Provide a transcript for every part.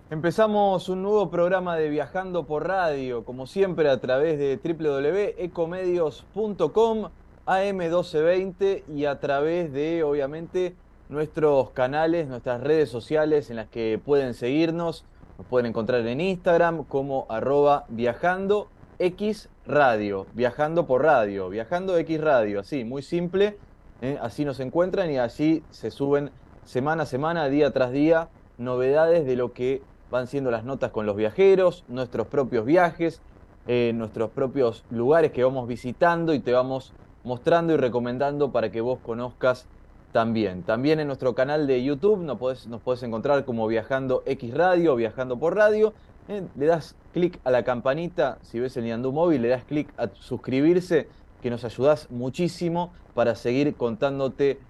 Empezamos un nuevo programa de Viajando por Radio, como siempre a través de www.ecomedios.com, AM1220 y a través de, obviamente, nuestros canales, nuestras redes sociales en las que pueden seguirnos. Nos pueden encontrar en Instagram como @viajando X Radio, Viajando por Radio, Viajando X Radio, así, muy simple. Así nos encuentran y allí se suben semana a semana, día tras día, novedades de lo que van siendo las notas con los viajeros, nuestros propios viajes, nuestros propios lugares que vamos visitando y te vamos mostrando y recomendando para que vos conozcas también. También en nuestro canal de YouTube nos podés encontrar como Viajando X Radio, Viajando por Radio. Le das clic a la campanita, si ves el Ñandú Móvil, le das clic a suscribirse, que nos ayudás muchísimo para seguir contándote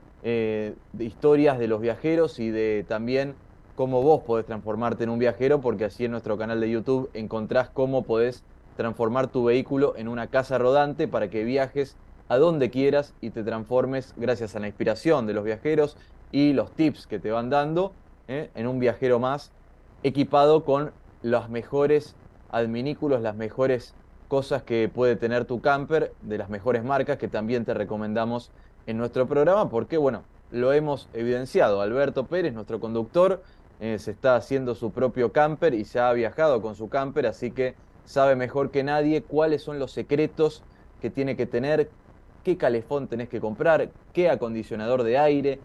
de historias de los viajeros y de también cómo vos podés transformarte en un viajero, porque así en nuestro canal de YouTube encontrás cómo podés transformar tu vehículo en una casa rodante para que viajes a donde quieras y te transformes gracias a la inspiración de los viajeros y los tips que te van dando, en un viajero más equipado con los mejores adminículos, las mejores cosas que puede tener tu camper, de las mejores marcas que también te recomendamos en nuestro programa, porque bueno, lo hemos evidenciado. Alberto Pérez, nuestro conductor, se está haciendo su propio camper y se ha viajado con su camper, así que sabe mejor que nadie cuáles son los secretos que tiene que tener, qué calefón tenés que comprar, qué acondicionador de aire,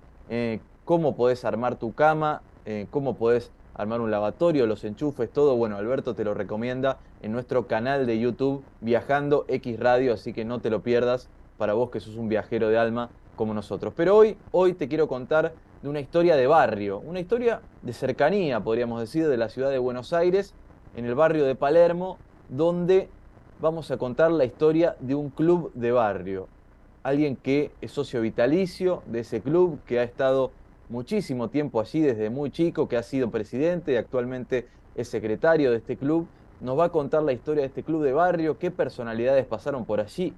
cómo podés armar tu cama, cómo podés armar un lavatorio, los enchufes, todo. Bueno, Alberto te lo recomienda en nuestro canal de YouTube Viajando X Radio, así que no te lo pierdas para vos que sos un viajero de alma como nosotros. Pero hoy te quiero contar de una historia de barrio, una historia de cercanía, podríamos decir, de la ciudad de Buenos Aires, en el barrio de Palermo, donde vamos a contar la historia de un club de barrio. Alguien que es socio vitalicio de ese club, que ha estado muchísimo tiempo allí desde muy chico, que ha sido presidente y actualmente es secretario de este club. Nos va a contar la historia de este club de barrio, qué personalidades pasaron por allí.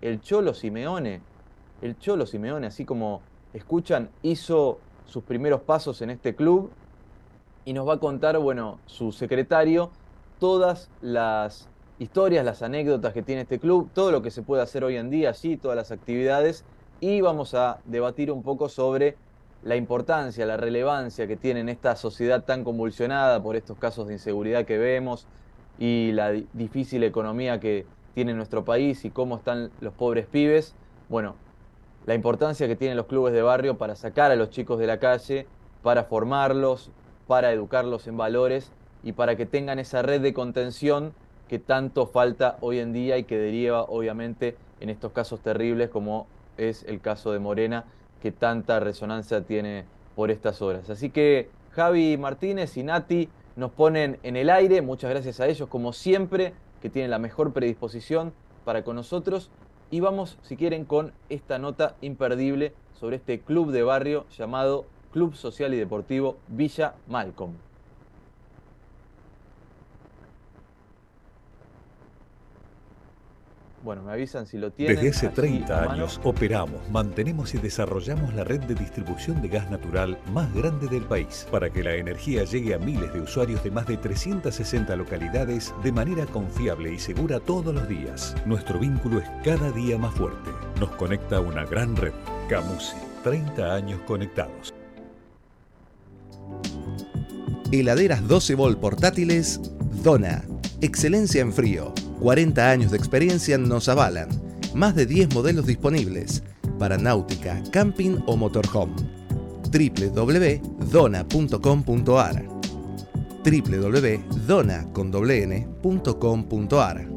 El Cholo Simeone, así como escuchan, hizo sus primeros pasos en este club y nos va a contar, bueno, su secretario, todas las historias, las anécdotas que tiene este club, todo lo que se puede hacer hoy en día allí, todas las actividades, y vamos a debatir un poco sobre la importancia, la relevancia que tiene en esta sociedad tan convulsionada por estos casos de inseguridad que vemos y la difícil economía que tiene nuestro país y cómo están los pobres pibes. Bueno, la importancia que tienen los clubes de barrio para sacar a los chicos de la calle, para formarlos, para educarlos en valores y para que tengan esa red de contención que tanto falta hoy en día y que deriva obviamente en estos casos terribles como es el caso de Morena, que tanta resonancia tiene por estas horas. Así que Javi Martínez y Nati nos ponen en el aire, muchas gracias a ellos como siempre, que tienen la mejor predisposición para con nosotros. Y vamos, si quieren, con esta nota imperdible sobre este club de barrio llamado Club Social y Deportivo Villa Malcolm. Bueno, me avisan si lo Desde tienen hace allí 30 a mano. años operamos, mantenemos y desarrollamos la red de distribución de gas natural más grande del país para que la energía llegue a miles de usuarios de más de 360 localidades de manera confiable y segura todos los días. Nuestro vínculo es cada día más fuerte. Nos conecta a una gran red. Camusi, 30 años conectados. Heladeras 12 Volt portátiles Dona. Excelencia en frío. 40 años de experiencia nos avalan. Más de 10 modelos disponibles para náutica, camping o motorhome. www.dona.com.ar www.dona.com.ar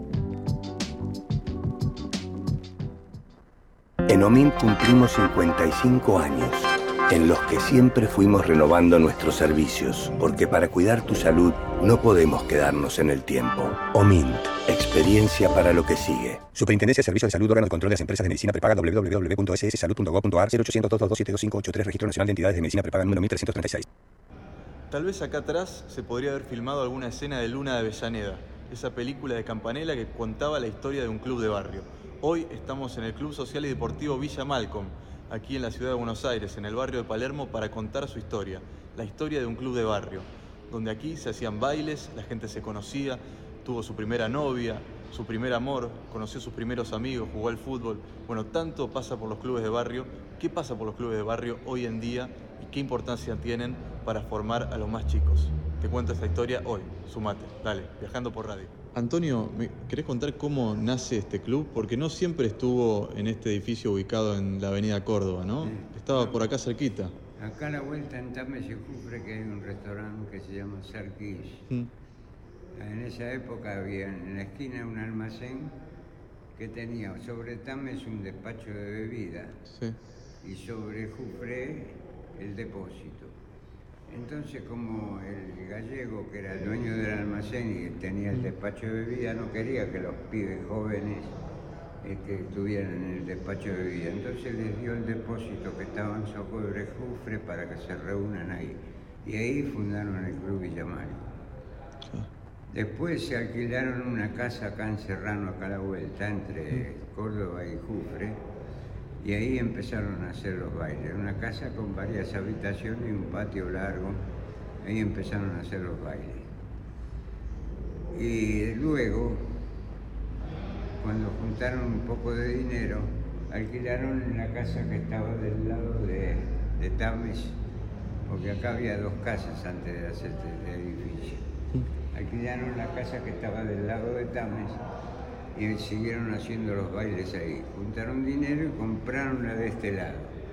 En OMINT cumplimos 55 años, en los que siempre fuimos renovando nuestros servicios, porque para cuidar tu salud no podemos quedarnos en el tiempo. OMINT, experiencia para lo que sigue. Superintendencia de Servicios de Salud, órgano de control de las empresas de medicina prepaga, www.sssalud.gov.ar, 0800-222-72583, Registro Nacional de Entidades de Medicina Prepaga número 1336. Tal vez acá atrás se podría haber filmado alguna escena de Luna de Avellaneda, esa película de Campanella que contaba la historia de un club de barrio. Hoy estamos en el Club Social y Deportivo Villa Malcolm, aquí en la ciudad de Buenos Aires, en el barrio de Palermo, para contar su historia, la historia de un club de barrio. donde aquí se hacían bailes, la gente se conocía, tuvo su primera novia, su primer amor, conoció sus primeros amigos, jugó al fútbol. Bueno, tanto pasa por los clubes de barrio. ¿Qué pasa por los clubes de barrio hoy en día y qué importancia tienen para formar a los más chicos? Te cuento esta historia hoy. Sumate, dale, Viajando por Radio. Antonio, ¿me querés contar cómo nace este club? Porque no siempre estuvo en este edificio ubicado en la avenida Córdoba, ¿no? Sí. Estaba por acá cerquita. Acá a la vuelta en Tames y Jufre, que hay un restaurante que se llama Sarquís. En esa época había en la esquina un almacén que tenía sobre Tames un despacho de bebida, Sí. y sobre Jufre el depósito. Entonces, como el gallego, que era el dueño del almacén y tenía el despacho de bebida, no quería que los pibes jóvenes estuvieran en el despacho de bebida. Entonces les dio el depósito que estaba en sobre Jufre para que se reúnan ahí. Y ahí fundaron el Club Villamal. Después se alquilaron una casa acá en Serrano, acá a la vuelta, entre Córdoba y Jufre, y ahí empezaron a hacer los bailes. Una casa con varias habitaciones y un patio largo, ahí empezaron a hacer los bailes. Y luego, cuando juntaron un poco de dinero, alquilaron la casa que estaba del lado de Tames, porque acá había dos casas antes de hacer este edificio. Alquilaron la casa que estaba del lado de Tames y siguieron haciendo los bailes ahí. Juntaron dinero y compraron la de este lado.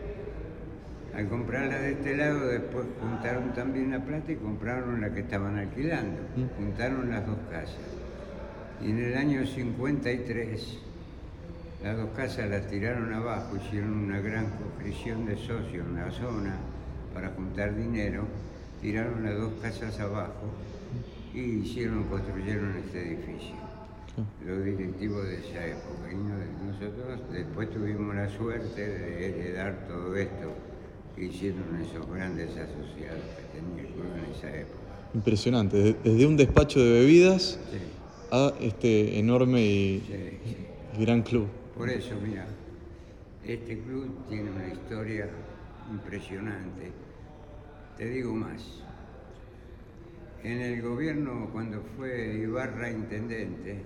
Al comprar la de este lado, después juntaron también la plata y compraron la que estaban alquilando. Juntaron las dos casas. Y en el año 53, las dos casas las tiraron abajo, hicieron una gran conscripción de socios en la zona para juntar dinero, tiraron las dos casas abajo y construyeron este edificio, los directivos de esa época. Y nosotros después tuvimos la suerte de heredar todo esto que hicieron esos grandes asociados que tenía el club en esa época. Impresionante, desde un despacho de bebidas a este enorme y gran club. Por eso, mira, este club tiene una historia impresionante. Te digo más. En el gobierno, cuando fue Ibarra intendente,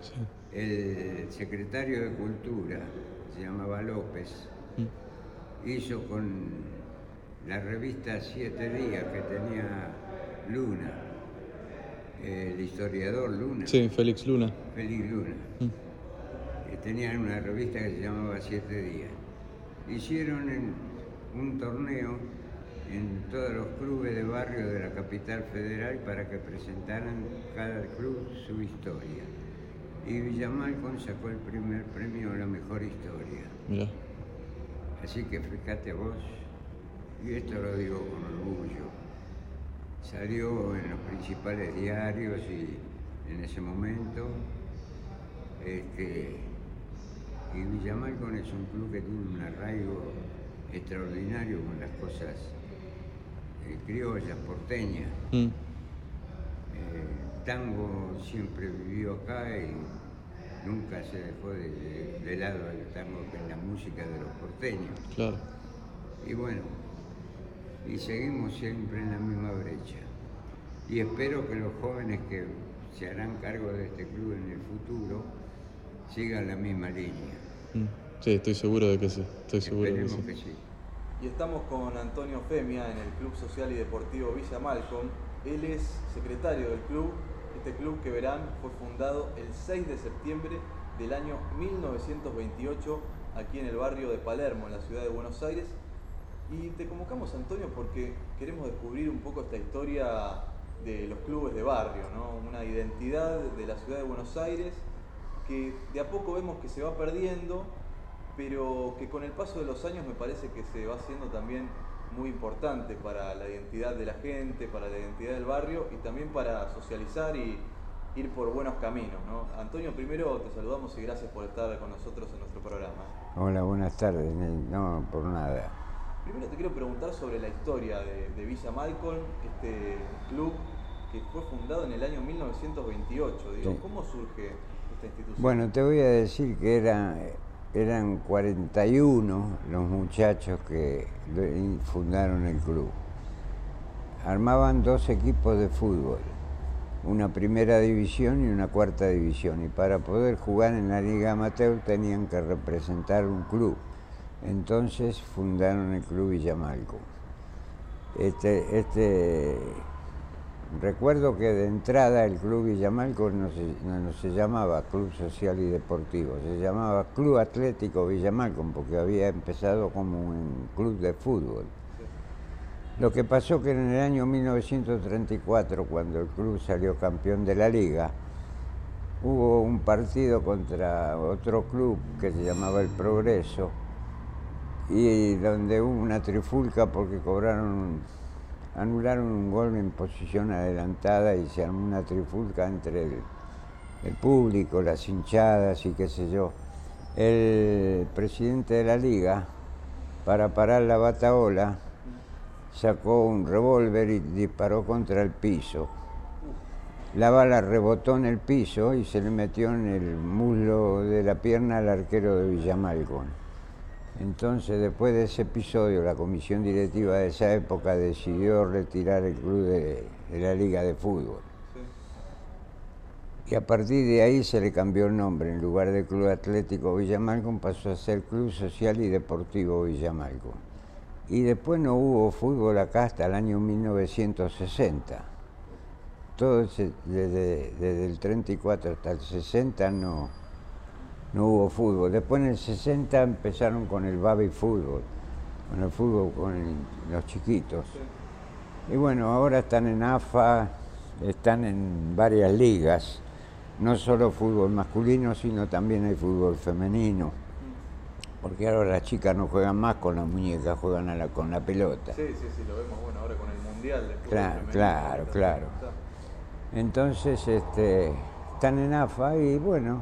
el secretario de Cultura, se llamaba López, hizo con la revista 7 Días que tenía Luna, el historiador Luna. Sí, Félix Luna. Félix Luna. Tenían una revista que se llamaba 7 Días. Hicieron un torneo en todos los clubes de barrio de la capital federal para que presentaran cada club su historia. Y Villamalcon sacó el primer premio a la mejor historia. Mirá. Así que fíjate vos, y esto lo digo con orgullo, salió en los principales diarios y en ese momento, y Villamalcon es un club que tiene un arraigo extraordinario con las cosas criollas, porteñas. Tango siempre vivió acá y nunca se dejó de lado el tango, que es la música de los porteños. Claro. Y bueno, y seguimos siempre en la misma brecha. Y espero que los jóvenes que se harán cargo de este club en el futuro sigan la misma línea. Sí, estoy seguro de que sí. Esperemos que sí. Y estamos con Antonio Femia en el Club Social y Deportivo Villamalcon. Él es secretario del club. Este club, que verán, fue fundado el 6 de septiembre del año 1928 aquí en el barrio de Palermo, en la ciudad de Buenos Aires. Y te convocamos, Antonio, porque queremos descubrir un poco esta historia de los clubes de barrio, ¿no? Una identidad de la ciudad de Buenos Aires que de a poco vemos que se va perdiendo, pero que con el paso de los años me parece que se va haciendo también muy importante para la identidad de la gente, para la identidad del barrio y también para socializar y ir por buenos caminos, ¿no? Antonio, primero te saludamos y gracias por estar con nosotros en nuestro programa. Hola, buenas tardes. No, por nada. Primero te quiero preguntar sobre la historia de Villamalcon, este club que fue fundado en el año 1928. Digo, sí. ¿Cómo surge esta institución? Bueno, te voy a decir que eran 41 los muchachos que fundaron el club. armaban 2 equipos de fútbol, una primera división y una cuarta división, y para poder jugar en la liga amateur tenían que representar un club. Entonces fundaron el Club Villa Malcom. Recuerdo que de entrada el Club Villa Malcom no se llamaba Club Social y Deportivo, se llamaba Club Atlético Villa Malcom, porque había empezado como un club de fútbol. Lo que pasó que en el año 1934, cuando el club salió campeón de la liga, hubo un partido contra otro club que se llamaba El Progreso, y donde hubo una trifulca porque anularon un gol en posición adelantada y se armó una trifulca entre el público, las hinchadas y qué sé yo. El presidente de la liga, para parar la batahola, sacó un revólver y disparó contra el piso. La bala rebotó en el piso y se le metió en el muslo de la pierna al arquero de Villa Malcom. Entonces, después de ese episodio, la comisión directiva de esa época decidió retirar el club de la liga de fútbol. Sí. Y a partir de ahí se le cambió el nombre. En lugar de Club Atlético Villa Malcom pasó a ser Club Social y Deportivo Villa Malcom. Y después no hubo fútbol acá hasta el año 1960. Todo desde el 34 hasta el 60 no hubo fútbol. Después en el 60 empezaron con el baby fútbol, con el fútbol con los chiquitos. Sí. Y bueno, ahora están en AFA, están en varias ligas, no solo fútbol masculino, sino también hay fútbol femenino. Porque ahora las chicas no juegan más con las muñecas, juegan con la pelota. Sí, lo vemos, bueno, ahora con el Mundial de fútbol femenino. Claro. Entonces, están en AFA y bueno,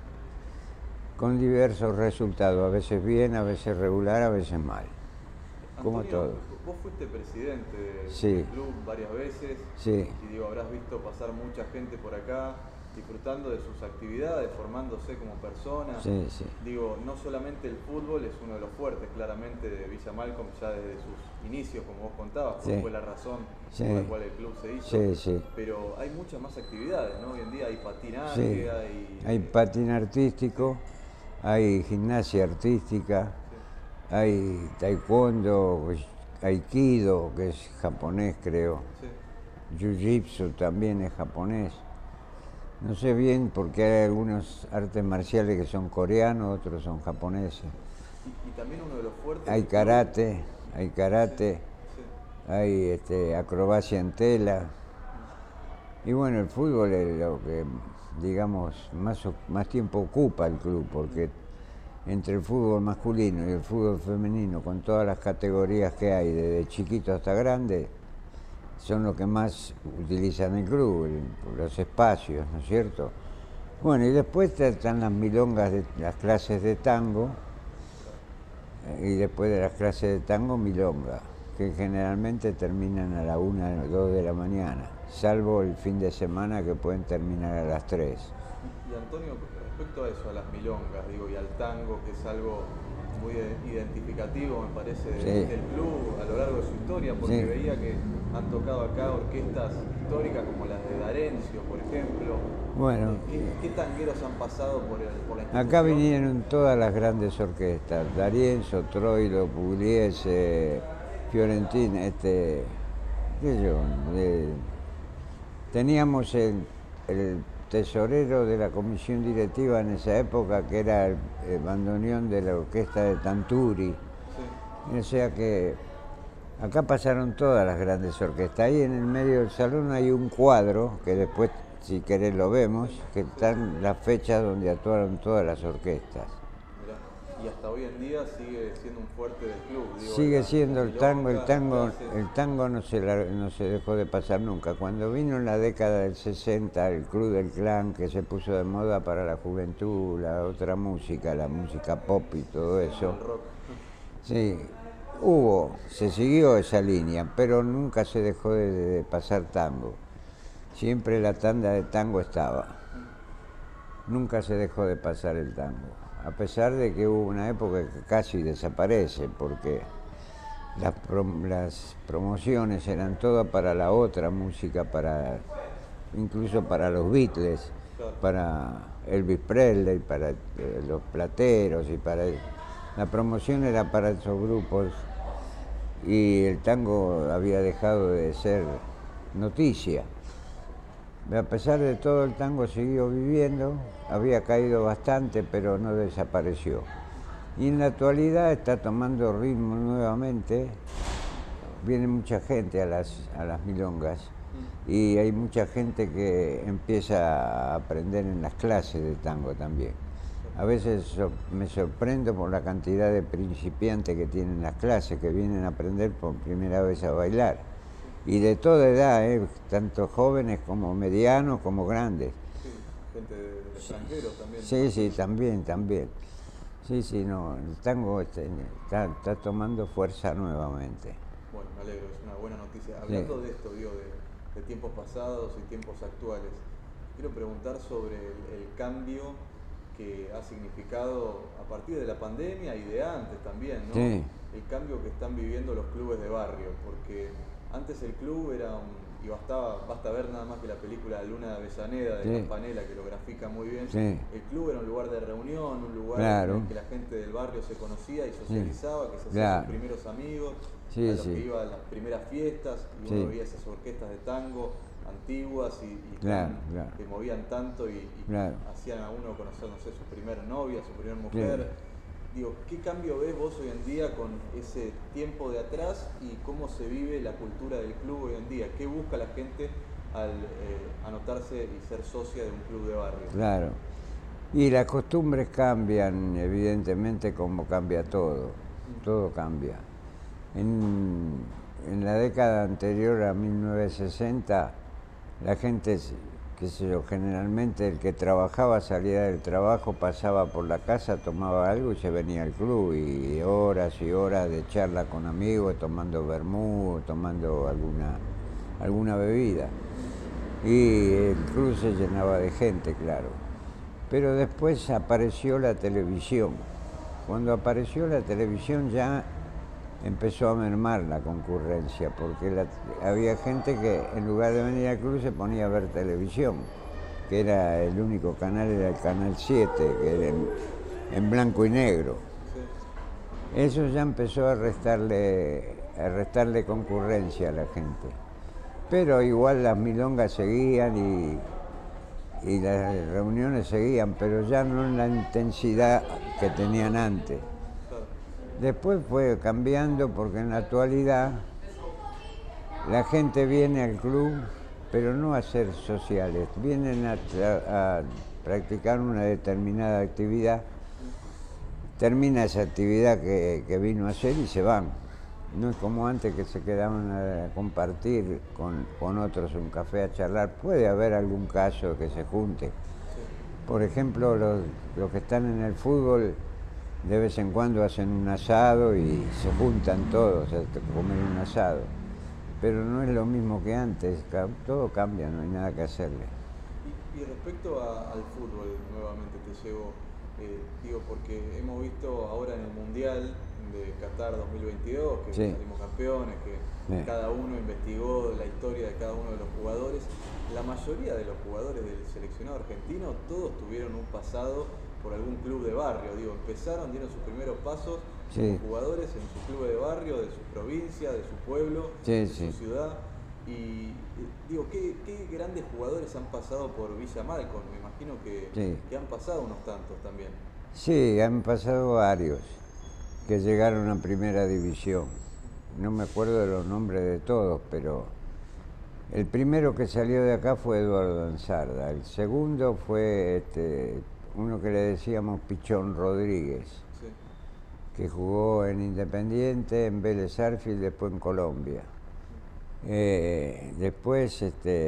con diversos resultados, a veces bien, a veces regular, a veces mal. Antonio, como todo. Vos fuiste presidente sí. del club varias veces. Sí. Y habrás visto pasar mucha gente por acá, disfrutando de sus actividades, formándose como personas. Sí. No solamente el fútbol es uno de los fuertes, claramente, de Villa Malcom, ya desde sus inicios, como vos contabas, fue la razón por la cual el club se hizo. Sí. Pero hay muchas más actividades, ¿no? Hoy en día hay patinaje, hay patín artístico, hay gimnasia artística, hay taekwondo, aikido, que es japonés, creo. Jiu-jitsu también es japonés. No sé bien porque hay algunos artes marciales que son coreanos, otros son japoneses. Y también uno de los fuertes... Hay karate, hay acrobacia en tela. Y bueno, el fútbol es lo que, digamos, más tiempo ocupa el club, porque entre el fútbol masculino y el fútbol femenino, con todas las categorías que hay, desde chiquito hasta grande, son los que más utilizan el club, los espacios, ¿no es cierto? Bueno, y después están las milongas, las clases de tango, y después de las clases de tango, milonga, que generalmente terminan a la 1 o 2 de la mañana, salvo el fin de semana que pueden terminar a las 3. Y Antonio, respecto a eso, a las milongas, y al tango, que es algo muy identificativo, me parece, del club a lo largo de su historia, porque veía que han tocado acá orquestas históricas como las de D'Arencio, por ejemplo. Bueno, ¿Qué tangueros han pasado por la institución? Acá vinieron todas las grandes orquestas, D'Arienzo, Troilo, Pugliese, Fiorentina, teníamos el tesorero de la comisión directiva en esa época, que era el bandoneón de la orquesta de Tanturi. Sí. O sea que acá pasaron todas las grandes orquestas. Ahí en el medio del salón hay un cuadro, que después, si querés, lo vemos, que están las fechas donde actuaron todas las orquestas. Y hasta hoy en día sigue siendo un fuerte del club. Sigue siendo el tango no se dejó de pasar nunca. Cuando vino en la década del 60 el Club del Clan, que se puso de moda para la juventud, la otra música, la música pop y todo eso. El rock. Sí, se siguió esa línea, pero nunca se dejó de pasar tango. Siempre la tanda de tango estaba. Nunca se dejó de pasar el tango. A pesar de que hubo una época que casi desaparece, porque las promociones eran todas para la otra música, incluso para los Beatles, para Elvis Presley, para los Plateros, la promoción era para esos grupos, y el tango había dejado de ser noticia. A pesar de todo, el tango siguió viviendo, había caído bastante, pero no desapareció. Y en la actualidad está tomando ritmo nuevamente, viene mucha gente a las milongas, y hay mucha gente que empieza a aprender en las clases de tango también. A veces me sorprendo por la cantidad de principiantes que tienen las clases, que vienen a aprender por primera vez a bailar. Y de toda edad, tanto jóvenes como medianos como grandes. Sí, gente de extranjeros también. Sí, también. Sí, no, el tango está tomando fuerza nuevamente. Bueno, me alegro, es una buena noticia. Hablando de esto, digo, de tiempos pasados y tiempos actuales, quiero preguntar sobre el cambio que ha significado a partir de la pandemia y de antes también, ¿no? Sí. El cambio que están viviendo los clubes de barrio, porque antes el club era y basta ver nada más que la película Luna de Avellaneda de Campanella, que lo grafica muy bien. Sí. El club era un lugar de reunión, un lugar Claro. en el que la gente del barrio se conocía y socializaba, que se hacía Claro. sus primeros amigos, Sí, a los sí. que iba a las primeras fiestas, y uno veía esas orquestas de tango antiguas y Claro. que movían tanto y hacían a uno conocer, no sé, su primer novia, su primer mujer. Claro. Digo, ¿qué cambio ves vos hoy en día con ese tiempo de atrás y cómo se vive la cultura del club hoy en día? ¿Qué busca la gente al anotarse y ser socia de un club de barrio? Claro. Y las costumbres cambian, evidentemente, como cambia todo. Todo cambia. En la década anterior a 1960, la gente, qué sé yo, generalmente el que trabajaba salía del trabajo, pasaba por la casa, tomaba algo y se venía al club, y horas y horas de charla con amigos, tomando vermú, tomando alguna bebida. Y el club se llenaba de gente, claro. Pero después apareció la televisión. Cuando apareció la televisión ya empezó a mermar la concurrencia, porque había gente que en lugar de venir al club se ponía a ver televisión, que era el único canal, era el canal 7, que era en blanco y negro. Eso ya empezó a restarle concurrencia a la gente. Pero igual las milongas seguían y las reuniones seguían, pero ya no en la intensidad que tenían antes. Después fue cambiando, porque en la actualidad la gente viene al club, pero no a ser sociales, vienen a practicar una determinada actividad, termina esa actividad que vino a hacer y se van. No es como antes, que se quedaban a compartir con otros un café, a charlar. Puede haber algún caso que se junte. Por ejemplo, los que están en el fútbol, de vez en cuando hacen un asado y se juntan todos a comer un asado. Pero no es lo mismo que antes, todo cambia, no hay nada que hacerle. Y respecto al fútbol, nuevamente te llevo, digo, porque hemos visto ahora en el Mundial de Qatar 2022, que salimos campeones, que cada uno investigó la historia de cada uno de los jugadores. La mayoría de los jugadores del seleccionado argentino, todos tuvieron un pasado por algún club de barrio, digo, dieron sus primeros pasos como jugadores en su club de barrio, de su provincia, de su pueblo, de su ciudad. Y digo, ¿qué grandes jugadores han pasado por Villa Malcom? Me imagino que han pasado unos tantos también. Sí, han pasado varios que llegaron a primera división. No me acuerdo de los nombres de todos, pero el primero que salió de acá fue Eduardo Ansarda. El segundo fue uno que le decíamos Pichón Rodríguez, que jugó en Independiente, en Vélez Sarsfield, después en Colombia. Después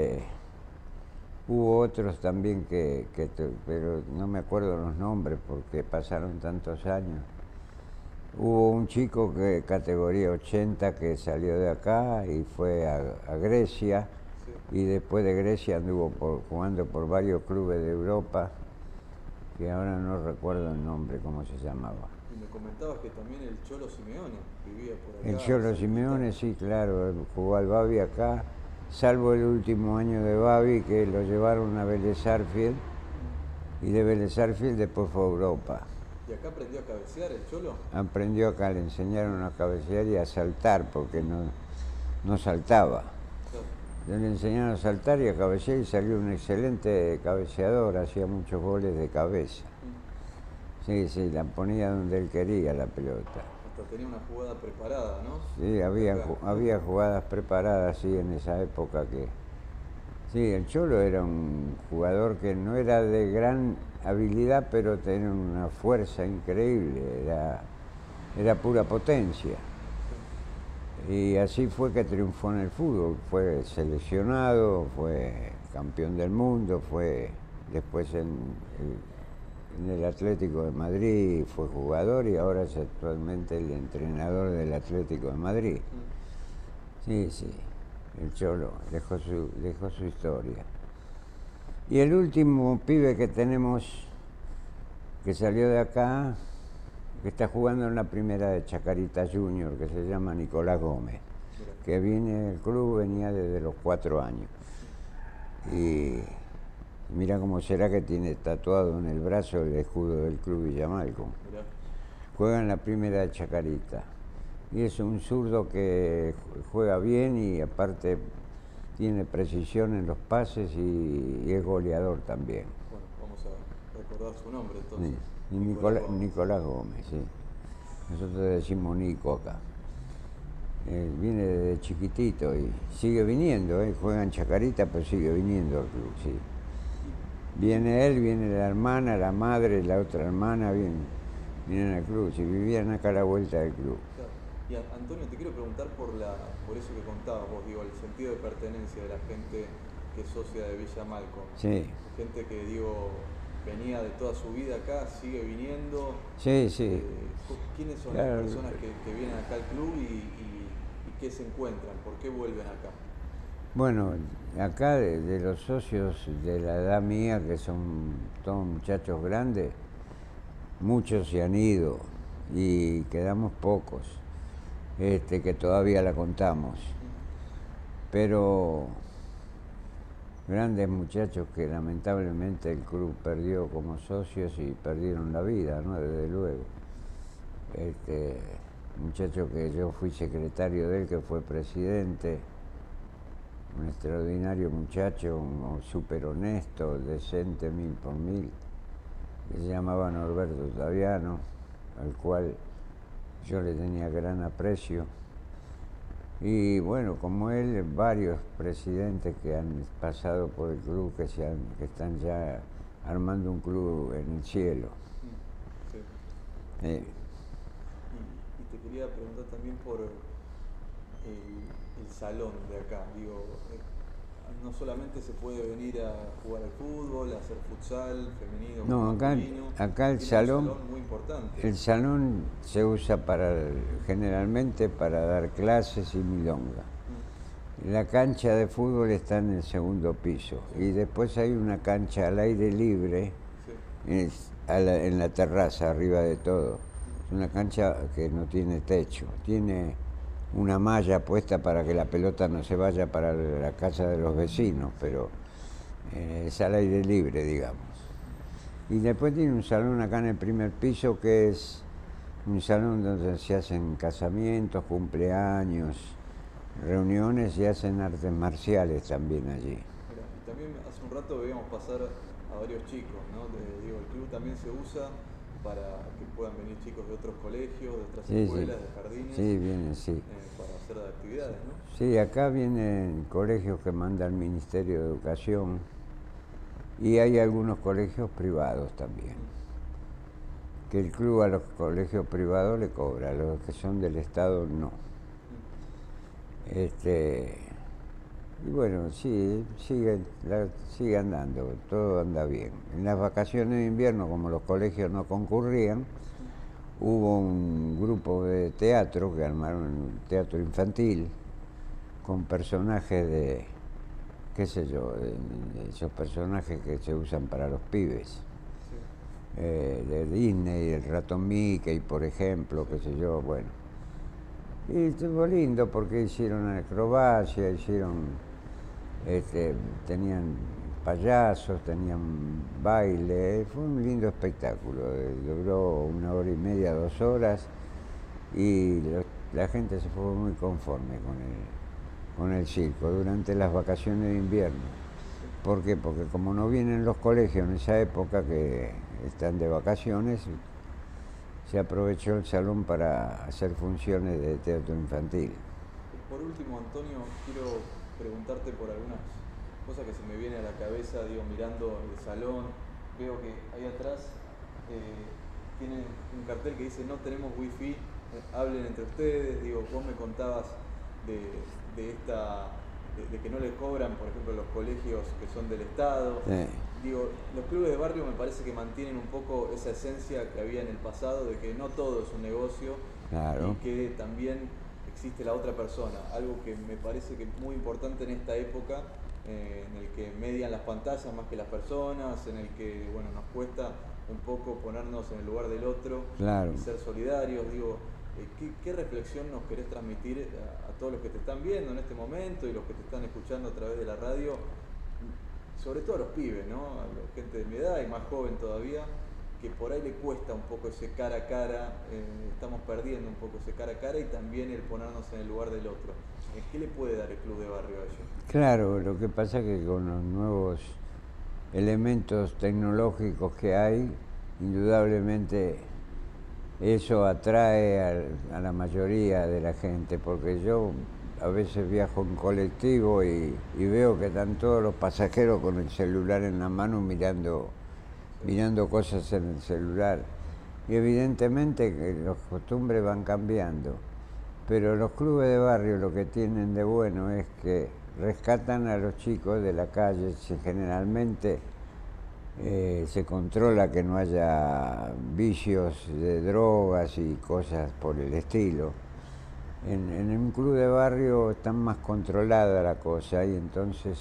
hubo otros también pero no me acuerdo los nombres porque pasaron tantos años. Hubo un chico que categoría 80 que salió de acá y fue a Grecia, y después de Grecia anduvo jugando por varios clubes de Europa, que ahora no recuerdo el nombre, cómo se llamaba. Y me comentabas que también el Cholo Simeone vivía por acá. El Cholo Simeone, sí, claro, él jugó al Babi acá, salvo el último año de Babi, que lo llevaron a Vélez Sarsfield, y de Vélez Sarsfield después fue a Europa. ¿Y acá aprendió a cabecear el Cholo? Aprendió acá, le enseñaron a cabecear y a saltar, porque no saltaba. Claro. Le enseñaron a saltar y a cabecear y salió un excelente cabeceador, hacía muchos goles de cabeza. Sí, sí, la ponía donde él quería la pelota. Hasta tenía una jugada preparada, ¿no? Sí, había jugadas preparadas, sí, en esa época que... Sí, el Cholo era un jugador que no era de gran habilidad, pero tenía una fuerza increíble, era pura potencia. Y así fue que triunfó en el fútbol, fue seleccionado, fue campeón del mundo, fue después en el Atlético de Madrid, fue jugador y ahora es actualmente el entrenador del Atlético de Madrid. Sí, sí, el Cholo dejó su historia. Y el último pibe que tenemos, que salió de acá, que está jugando en la primera de Chacarita Junior, que se llama Nicolás Gómez, que viene del club, venía desde los 4 años. Y mira cómo será que tiene tatuado en el brazo el escudo del club Villamalco. Juega en la primera de Chacarita. Y es un zurdo que juega bien y aparte tiene precisión en los pases y es goleador también. Bueno, vamos a recordar su nombre entonces. Sí. Y Nicolás Gómez, sí. Nosotros decimos Nico acá. Viene desde chiquitito y sigue viniendo, juega en Chacarita, pero sigue viniendo al club, sí. Viene él, viene la hermana, la madre, la otra hermana, vienen al club, si vivían acá a la vuelta del club. Claro. Y Antonio, te quiero preguntar por eso que contabas vos, digo, el sentido de pertenencia de la gente que es socia de Villamalco. Sí. Gente que, digo, venía de toda su vida acá, sigue viniendo. Sí, sí. ¿Quiénes son las personas que vienen acá al club y qué se encuentran? ¿Por qué vuelven acá? Bueno, acá de los socios de la edad mía, que son todos muchachos grandes, muchos se han ido y quedamos pocos, que todavía la contamos. Pero grandes muchachos que lamentablemente el club perdió como socios y perdieron la vida, ¿no? Desde luego. Muchacho que yo fui secretario de él, que fue presidente, un extraordinario muchacho, súper honesto, decente 1000 , que se llamaba Norberto Taviano, al cual yo le tenía gran aprecio. Y bueno, como él, varios presidentes que han pasado por el club, que están ya armando un club en el cielo. Sí. Y te quería preguntar también por el salón de acá. Digo, no solamente se puede venir a jugar al fútbol, a hacer futsal, femenino, no, acá el salón muy importante. El salón se usa generalmente para dar clases y milonga. La cancha de fútbol está en el segundo piso y después hay una cancha al aire libre, en la terraza, arriba de todo. Es una cancha que no tiene techo, tiene una malla puesta para que la pelota no se vaya para la casa de los vecinos, pero es al aire libre, digamos. Y después tiene un salón acá en el primer piso, que es un salón donde se hacen casamientos, cumpleaños, reuniones y hacen artes marciales también allí. Mira, y también hace un rato veíamos pasar a varios chicos, ¿no? Digo, el club también se usa para que puedan venir chicos de otros colegios, de otras escuelas, de jardines. Sí, vienen, sí. Para hacer actividades, ¿no? Sí, acá vienen colegios que manda el Ministerio de Educación y hay algunos colegios privados también. Que el club a los colegios privados le cobra, a los que son del Estado no. Y bueno, sí, sigue andando, todo anda bien. En las vacaciones de invierno, como los colegios no concurrían, hubo un grupo de teatro que armaron un teatro infantil con personajes de, qué sé yo, de esos personajes que se usan para los pibes. de Disney, el ratón Mickey, por ejemplo, qué sé yo, bueno. Y estuvo lindo porque hicieron acrobacia, tenían payasos, tenían baile, fue un lindo espectáculo, duró 1 hora y media, 2 horas, y la gente se fue muy conforme con el circo durante las vacaciones de invierno. ¿Por qué? Porque como no vienen los colegios en esa época que están de vacaciones, se aprovechó el salón para hacer funciones de teatro infantil. Por último, Antonio, quiero preguntarte por algunas cosas que se me vienen a la cabeza, mirando el salón. Veo que ahí atrás tienen un cartel que dice: no tenemos wifi, hablen entre ustedes. Vos me contabas de que no les cobran, por ejemplo, los colegios que son del Estado. Sí. Los clubes de barrio me parece que mantienen un poco esa esencia que había en el pasado, de que no todo es un negocio. Claro. Y que también existe la otra persona, algo que me parece que es muy importante en esta época, en el que median las pantallas más que las personas, en el que nos cuesta un poco ponernos en el lugar del otro. Claro. Y ser solidarios. ¿Qué reflexión nos querés transmitir a todos los que te están viendo en este momento y los que te están escuchando a través de la radio? Sobre todo a los pibes, ¿no? A la gente de mi edad y más joven todavía, que por ahí le cuesta un poco ese cara a cara, estamos perdiendo un poco ese cara a cara y también el ponernos en el lugar del otro. ¿Qué le puede dar el club de barrio a ellos? Claro, lo que pasa es que con los nuevos elementos tecnológicos que hay, indudablemente eso atrae a la mayoría de la gente, porque yo a veces viajo en colectivo y veo que están todos los pasajeros con el celular en la mano mirando cosas en el celular. Y evidentemente que las costumbres van cambiando, pero los clubes de barrio lo que tienen de bueno es que rescatan a los chicos de la calle. generalmente se controla que no haya vicios de drogas y cosas por el estilo. En un club de barrio está más controlada la cosa y entonces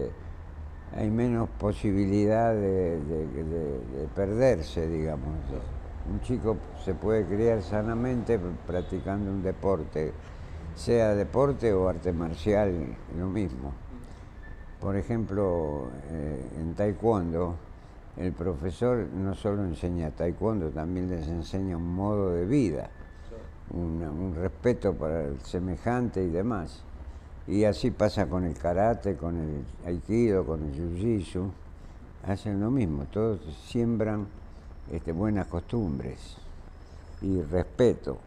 hay menos posibilidad de perderse, digamos. Un chico se puede criar sanamente practicando un deporte, sea deporte o arte marcial, lo mismo. Por ejemplo, en taekwondo, el profesor no solo enseña taekwondo, también les enseña un modo de vida, un respeto para el semejante y demás. Y así pasa con el karate, con el aikido, con el jiu-jitsu. Hacen lo mismo, todos siembran buenas costumbres y respeto.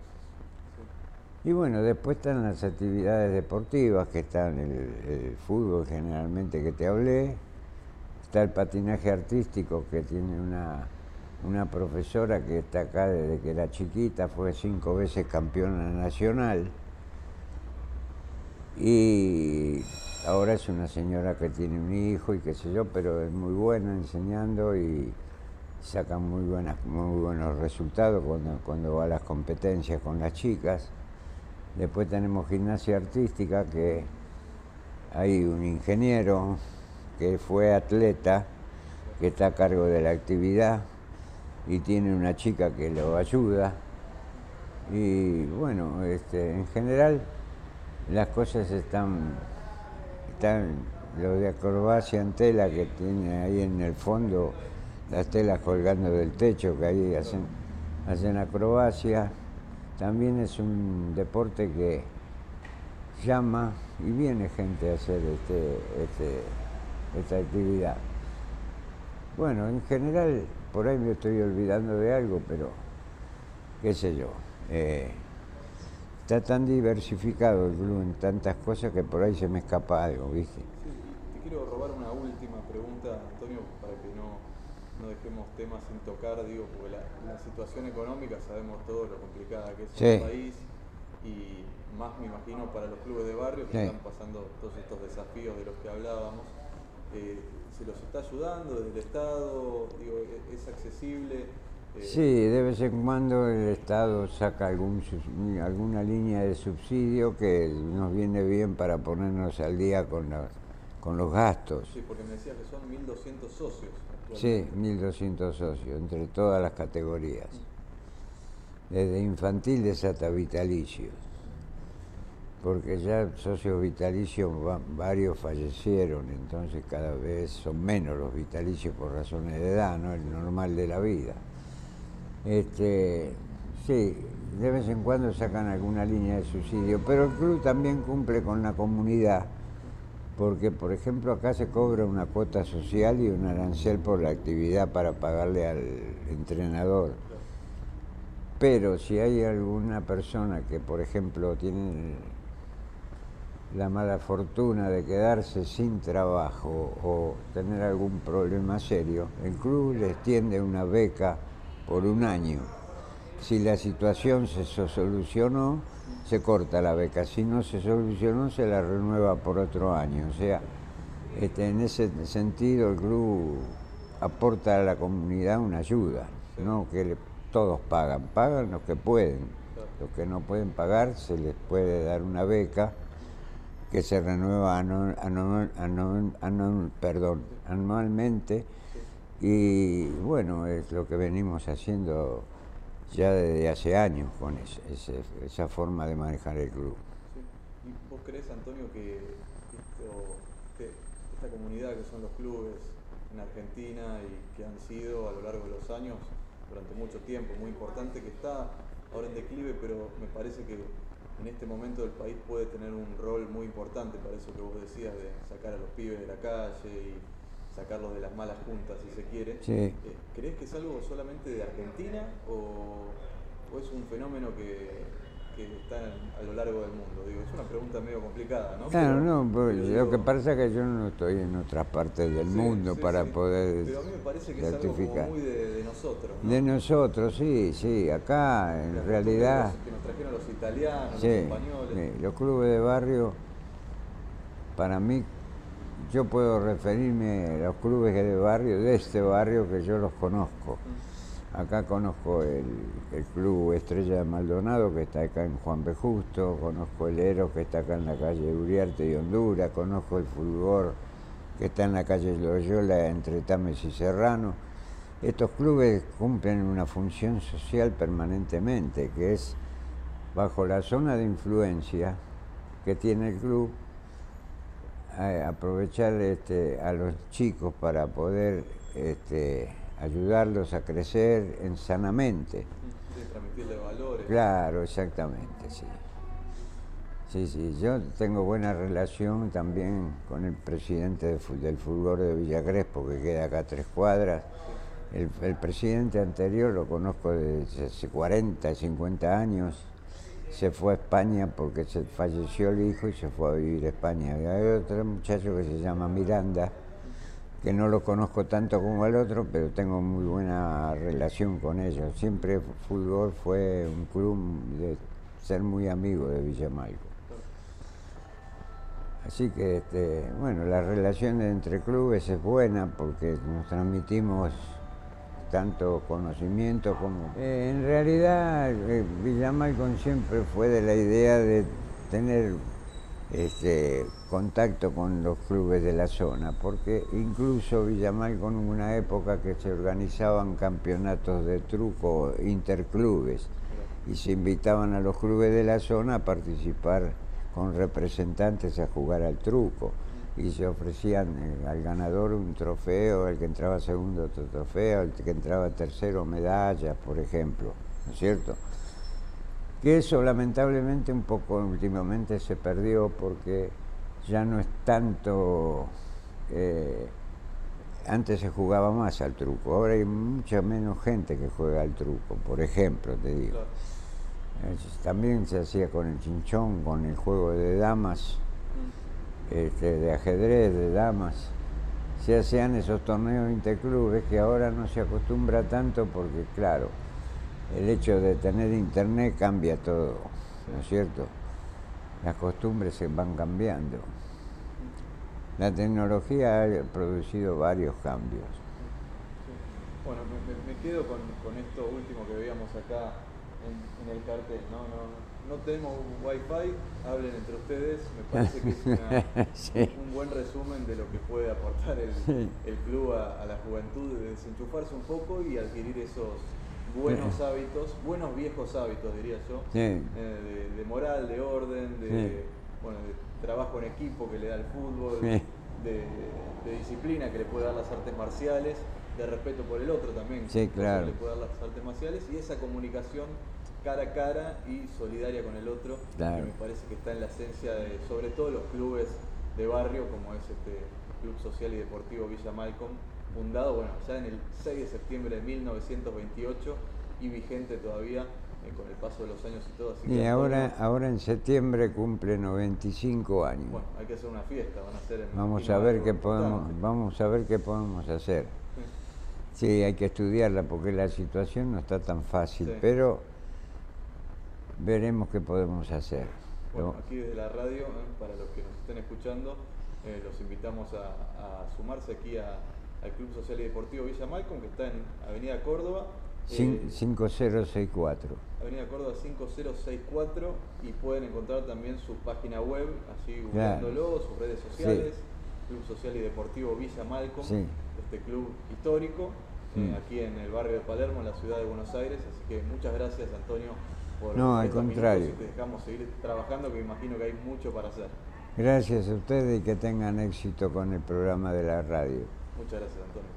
Y bueno, después están las actividades deportivas, que están el fútbol generalmente que te hablé, está el patinaje artístico, que tiene una profesora que está acá desde que era chiquita, fue 5 veces campeona nacional, y ahora es una señora que tiene un hijo y qué sé yo, pero es muy buena enseñando y saca muy buenos resultados cuando va a las competencias con las chicas. Después tenemos gimnasia artística, que hay un ingeniero que fue atleta, que está a cargo de la actividad y tiene una chica que lo ayuda. Y bueno, en general las cosas están lo de acrobacia en tela, que tiene ahí en el fondo las telas colgando del techo, que ahí hacen acrobacia. También es un deporte que llama y viene gente a hacer esta actividad. Bueno, en general, por ahí me estoy olvidando de algo, pero qué sé yo. Está tan diversificado el club en tantas cosas que por ahí se me escapa algo, ¿viste? Sí, te quiero robar una última pregunta, Antonio, para que no dejemos temas sin tocar, porque la situación económica sabemos todos lo complicada que es el país, y más me imagino para los clubes de barrio que están pasando todos estos desafíos de los que hablábamos. ¿Se los está ayudando desde el Estado? ¿Es accesible? Sí, de vez en cuando el Estado saca alguna línea de subsidio que nos viene bien para ponernos al día con con los gastos. Sí, porque me decías que son 1.200 socios Sí, actualmente. 1.200 socios, entre todas las categorías. Desde infantiles hasta vitalicios. Porque ya socios vitalicios varios fallecieron, entonces cada vez son menos los vitalicios por razones de edad, ¿no? El normal de la vida. Sí, de vez en cuando sacan alguna línea de subsidio, pero el club también cumple con la comunidad, porque por ejemplo acá se cobra una cuota social y un arancel por la actividad para pagarle al entrenador. Pero si hay alguna persona que por ejemplo tiene la mala fortuna de quedarse sin trabajo o tener algún problema serio, el club les tiende una beca por un año. Si la situación se solucionó, se corta la beca. Si no se solucionó, se la renueva por otro año. O sea, en ese sentido el club aporta a la comunidad una ayuda, no que todos pagan los que pueden. Los que no pueden pagar se les puede dar una beca que se renueva anualmente, y bueno, es lo que venimos haciendo ya desde hace años con esa forma de manejar el club. Sí. ¿Y vos crees, Antonio, que esta comunidad que son los clubes en Argentina y que han sido a lo largo de los años, durante mucho tiempo, muy importante, que está ahora en declive, pero me parece que en este momento el país puede tener un rol muy importante para eso que vos decías, de sacar a los pibes de la calle y sacarlos de las malas juntas, si se quiere? Sí. ¿Crees que es algo solamente de Argentina o es un fenómeno que está a lo largo del mundo? Digo, es una pregunta medio complicada, ¿no? Claro, pero, no, pero lo que pasa es que yo no estoy en otras partes del mundo para poder Pero a mí me parece que certificar. Es algo como muy de nosotros, ¿no? De nosotros, sí, acá en realidad... Que nos trajeron los italianos, Sí, los españoles. los clubes de barrio, para mí, yo puedo referirme a los clubes de barrio, de este barrio, que yo los conozco. Acá conozco el Club Estrella de Maldonado, que está acá en Juan B. Justo, conozco el Eros, que está acá en la calle Uriarte y Honduras, conozco el Fulgor, que está en la calle Loyola, entre Tames y Serrano. Estos clubes cumplen una función social permanentemente, que es, bajo la zona de influencia que tiene el club, aprovechar a los chicos para poder ayudarlos a crecer sanamente. Sí, transmitirle valores. Claro, exactamente, sí. Sí, yo tengo buena relación también con el presidente del Fulgor de Villa Crespo, que queda acá a 3 cuadras. El presidente anterior lo conozco desde hace 40, 50 años. Se fue a España porque se falleció el hijo y se fue a vivir a España. Y hay otro muchacho que se llama Miranda, que no lo conozco tanto como el otro, pero tengo muy buena relación con ellos. Siempre Fulgor fue un club de ser muy amigo de Villamalco. Así que, bueno, la relación entre clubes es buena porque nos transmitimos tanto conocimiento como... en realidad, Villamalco siempre fue de la idea de tener contacto con los clubes de la zona, porque incluso Villamalco en una época que se organizaban campeonatos de truco interclubes y se invitaban a los clubes de la zona a participar con representantes a jugar al truco, y se ofrecían al ganador un trofeo, al que entraba segundo otro trofeo, al que entraba tercero medallas, por ejemplo, ¿no es cierto? Que eso lamentablemente un poco últimamente se perdió porque ya no es tanto... antes se jugaba más al truco, ahora hay mucha menos gente que juega al truco, por ejemplo, te digo. También se hacía con el chinchón, con el juego de damas, de ajedrez, de damas. Se hacían esos torneos interclubes que ahora no se acostumbra tanto porque, claro, el hecho de tener internet cambia todo, ¿no es cierto? Las costumbres se van cambiando. La tecnología ha producido varios cambios. Sí. Bueno, me quedo con esto último que veíamos acá en el cartel, ¿no? no tenemos Wi-Fi, hablen entre ustedes. Me parece que es un buen resumen de lo que puede aportar el club a la juventud, de desenchufarse un poco y adquirir esos buenos hábitos, buenos viejos hábitos, diría yo, de moral, de orden, de trabajo en equipo que le da el fútbol, de disciplina que le puede dar las artes marciales, de respeto por el otro también, que le puede dar las artes marciales, y esa comunicación cara a cara y solidaria con el otro, que me parece que está en la esencia de, sobre todo, los clubes de barrio, como es este Club Social y Deportivo Villa Malcolm, fundado ya en el 6 de septiembre de 1928 y vigente todavía con el paso de los años y todo. Así y ahora en septiembre cumple 95 años. Bueno, hay que hacer una fiesta, van a hacer vamos a ver qué podemos hacer. Sí, hay que estudiarla porque la situación no está tan fácil, pero veremos qué podemos hacer. Bueno, aquí desde la radio, para los que nos estén escuchando, los invitamos a sumarse aquí al Club Social y Deportivo Villa Malcolm, que está en Avenida Córdoba. 5064. Avenida Córdoba 5064, y pueden encontrar también su página web, así googleándolo, sus redes sociales, Club Social y Deportivo Villa Malcolm, este club histórico, aquí en el barrio de Palermo, en la ciudad de Buenos Aires. Así que muchas gracias, Antonio, por al contrario. Y te dejamos seguir trabajando, que imagino que hay mucho para hacer. Gracias a ustedes y que tengan éxito con el programa de la radio. Muchas gracias, Antonio.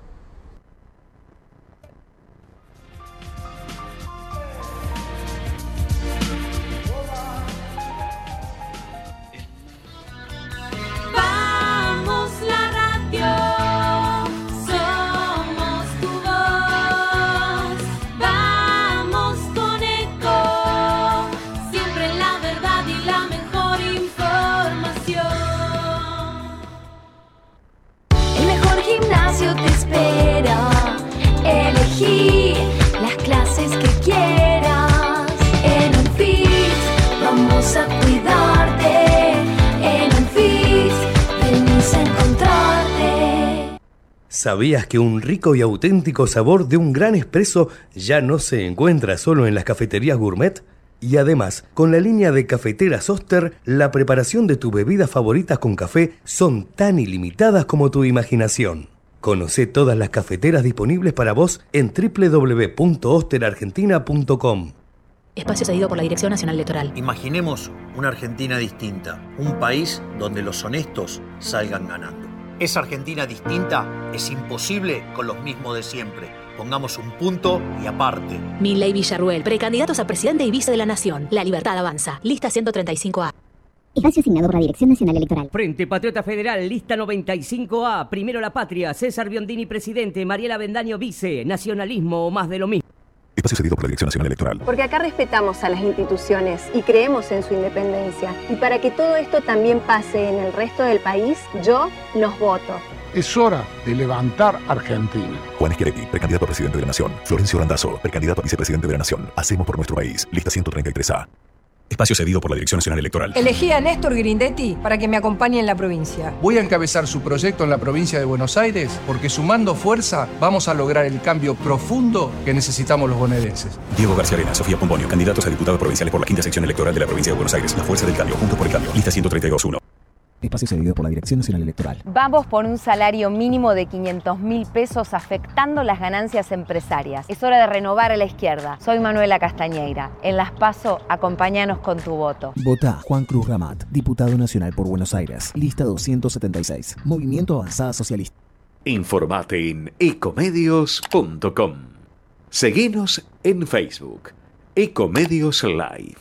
Te espera, elegí las clases que quieras. En Unfit vamos a cuidarte. En Unfit venimos a encontrarte. ¿Sabías que un rico y auténtico sabor de un gran espresso ya no se encuentra solo en las cafeterías gourmet? Y además, con la línea de cafeteras Oster, la preparación de tus bebidas favoritas con café son tan ilimitadas como tu imaginación. Conocé todas las cafeteras disponibles para vos en www.osterargentina.com. Espacio cedido por la Dirección Nacional Electoral. Imaginemos una Argentina distinta, un país donde los honestos salgan ganando. Esa Argentina distinta es imposible con los mismos de siempre. Pongamos un punto y aparte. Milei Villarruel, precandidatos a presidente y vice de la Nación. La Libertad avanza. Lista 135A. Espacio asignado por la Dirección Nacional Electoral. Frente Patriota Federal, lista 95A. Primero la Patria. César Biondini, presidente. Mariela Bendaño, vice. Nacionalismo o más de lo mismo. Espacio cedido por la Dirección Nacional Electoral. Porque acá respetamos a las instituciones y creemos en su independencia. Y para que todo esto también pase en el resto del país, yo los voto. Es hora de levantar Argentina. Juan Schiaretti, precandidato a presidente de la Nación. Florencio Randazzo, precandidato a vicepresidente de la Nación. Hacemos por nuestro país. Lista 133A. Espacio cedido por la Dirección Nacional Electoral. Elegí a Néstor Grindetti para que me acompañe en la provincia. Voy a encabezar su proyecto en la provincia de Buenos Aires porque sumando fuerza vamos a lograr el cambio profundo que necesitamos los bonaerenses. Diego García Arena, Sofía Pomponio, candidatos a diputados provinciales por la 5ª sección electoral de la provincia de Buenos Aires. La fuerza del cambio, juntos por el cambio. Lista 132.1. Espacio cedido por la Dirección Nacional Electoral. Vamos por un salario mínimo de 500.000 pesos afectando las ganancias empresarias. Es hora de renovar a la izquierda. Soy Manuela Castañeira. En Las PASO, acompáñanos con tu voto. Vota Juan Cruz Ramat, diputado nacional por Buenos Aires. Lista 276. Movimiento Avanzada Socialista. Informate en ecomedios.com. Seguinos en Facebook. Ecomedios Live.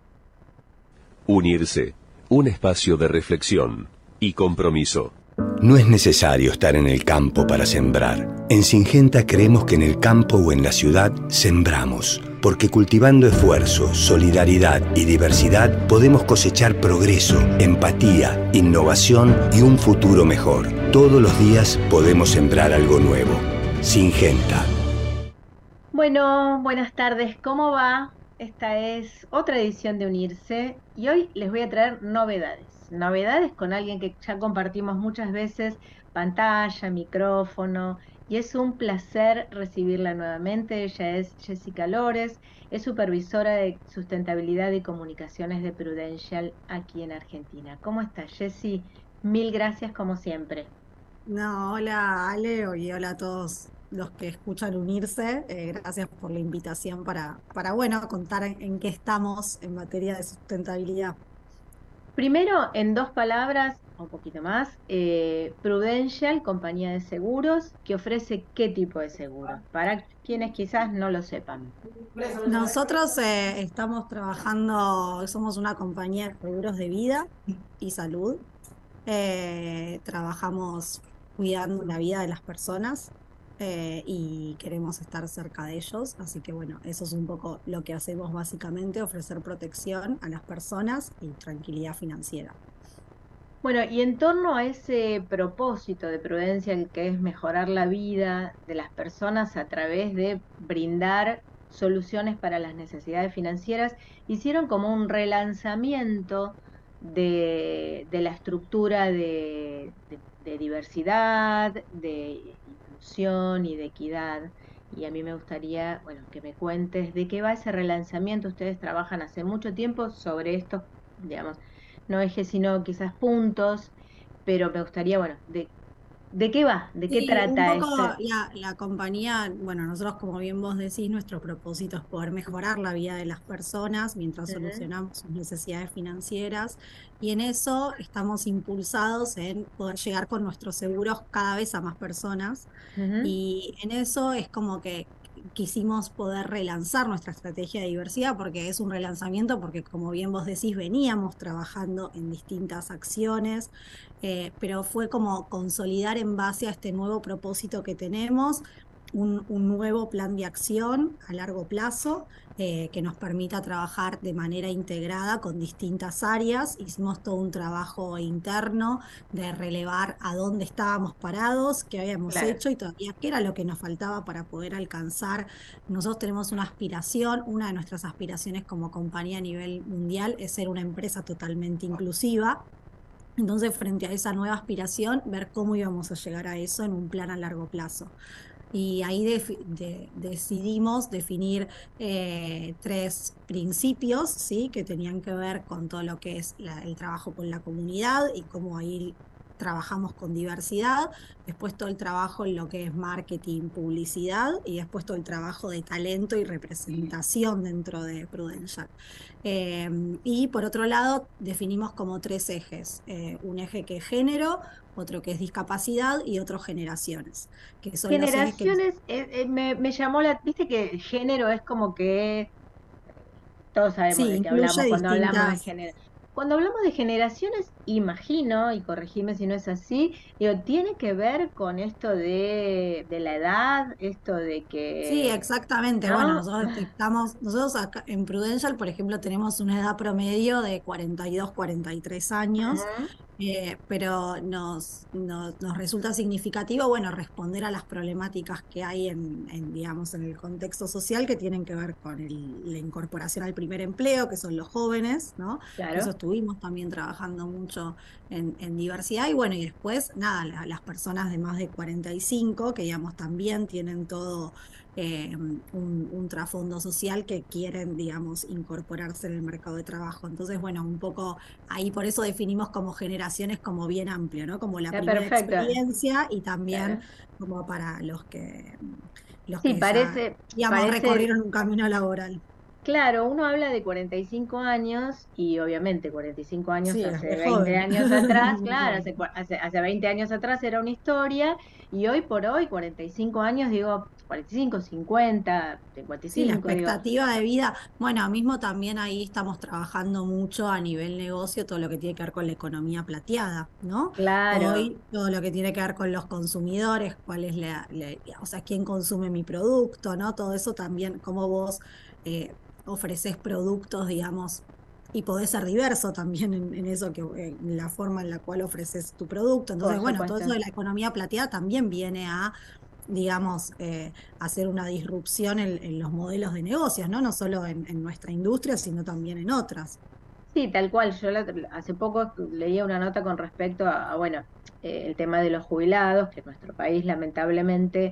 Unirse. Un espacio de reflexión y compromiso. No es necesario estar en el campo para sembrar. En Syngenta creemos que en el campo o en la ciudad sembramos, porque cultivando esfuerzo, solidaridad y diversidad podemos cosechar progreso, empatía, innovación y un futuro mejor. Todos los días podemos sembrar algo nuevo. Syngenta. Bueno, buenas tardes, ¿cómo va? Esta es otra edición de Unirse y hoy les voy a traer novedades con alguien que ya compartimos muchas veces pantalla, micrófono y es un placer recibirla nuevamente. Ella es Jessica Lores, es supervisora de sustentabilidad y comunicaciones de Prudential aquí en Argentina. ¿Cómo estás, Jessy? Mil gracias como siempre. No, hola Ale y hola a todos los que escuchan Unirse. Gracias por la invitación para contar en qué estamos en materia de sustentabilidad. Primero, en 2 palabras, un poquito más, Prudential, compañía de seguros, que ofrece qué tipo de seguro, para quienes quizás no lo sepan. Nosotros estamos trabajando, somos una compañía de seguros de vida y salud. Trabajamos cuidando la vida de las personas y queremos estar cerca de ellos, así que bueno, eso es un poco lo que hacemos básicamente, ofrecer protección a las personas y tranquilidad financiera. Bueno, y en torno a ese propósito de Prudential, que es mejorar la vida de las personas a través de brindar soluciones para las necesidades financieras, hicieron como un relanzamiento de la estructura de diversidad, de inclusión y de equidad. Y a mí me gustaría, bueno, que me cuentes de qué va ese relanzamiento. Ustedes trabajan hace mucho tiempo sobre estos, digamos, no ejes, sino quizás puntos, pero me gustaría, bueno, ¿de qué va? ¿De qué trata un poco esto? la compañía, bueno, nosotros como bien vos decís, nuestro propósito es poder mejorar la vida de las personas mientras solucionamos sus necesidades financieras, y en eso estamos impulsados en poder llegar con nuestros seguros cada vez a más personas, y en eso es como que quisimos poder relanzar nuestra estrategia de diversidad, porque es un relanzamiento, porque como bien vos decís, veníamos trabajando en distintas acciones, pero fue como consolidar en base a este nuevo propósito que tenemos, un nuevo plan de acción a largo plazo que nos permita trabajar de manera integrada con distintas áreas. Hicimos todo un trabajo interno de relevar a dónde estábamos parados, qué habíamos hecho y todavía qué era lo que nos faltaba para poder alcanzar. Nosotros tenemos una aspiración, una de nuestras aspiraciones como compañía a nivel mundial es ser una empresa totalmente inclusiva. Entonces, frente a esa nueva aspiración, ver cómo íbamos a llegar a eso en un plan a largo plazo. Y ahí decidimos definir 3 principios, ¿sí? Que tenían que ver con todo lo que es el trabajo con la comunidad y cómo ahí trabajamos con diversidad, después todo el trabajo en lo que es marketing, publicidad, y después todo el trabajo de talento y representación dentro de Prudential. Y por otro lado, definimos como 3 ejes, un eje que es género, otro que es discapacidad y otro generaciones. Que son Generaciones, me llamó viste que género es como que todos sabemos de qué hablamos cuando hablamos de género. Cuando hablamos de generaciones, imagino, y corregime si no es así, digo, tiene que ver con esto de la edad, esto de que... Sí, exactamente. ¿no? Bueno, nosotros acá en Prudential, por ejemplo, tenemos una edad promedio de 42, 43 años, pero nos resulta significativo, bueno, responder a las problemáticas que hay digamos, en el contexto social, que tienen que ver con la incorporación al primer empleo, que son los jóvenes, ¿no? Claro. Eso estuvimos también trabajando mucho en diversidad, y bueno, y después, nada, las personas de más de 45, que digamos también tienen todo un trasfondo social, que quieren, digamos, incorporarse en el mercado de trabajo. Entonces, bueno, un poco ahí por eso definimos como generaciones como bien amplio, ¿no? Como la primera experiencia y también como para los que digamos, recorrieron un camino laboral. Claro, uno habla de 45 años y obviamente 45 años hace 20 joven. años atrás, claro, hace 20 años atrás era una historia, y hoy por hoy, 45 años, digo, 45, 50, 55. Sí, la expectativa de vida, bueno, mismo también ahí estamos trabajando mucho a nivel negocio, todo lo que tiene que ver con la economía plateada, ¿no? Claro. Hoy todo lo que tiene que ver con los consumidores, cuál es o sea, quién consume mi producto, ¿no? Todo eso también, cómo vos ofreces productos, digamos, y podés ser diverso también en eso, en la forma en la cual ofreces tu producto. Entonces, bueno, todo eso de la economía plateada también viene a, digamos, hacer una disrupción en los modelos de negocios, ¿no? No solo en nuestra industria, sino también en otras. Sí, tal cual. Hace poco leía una nota con respecto bueno, el tema de los jubilados, que en nuestro país lamentablemente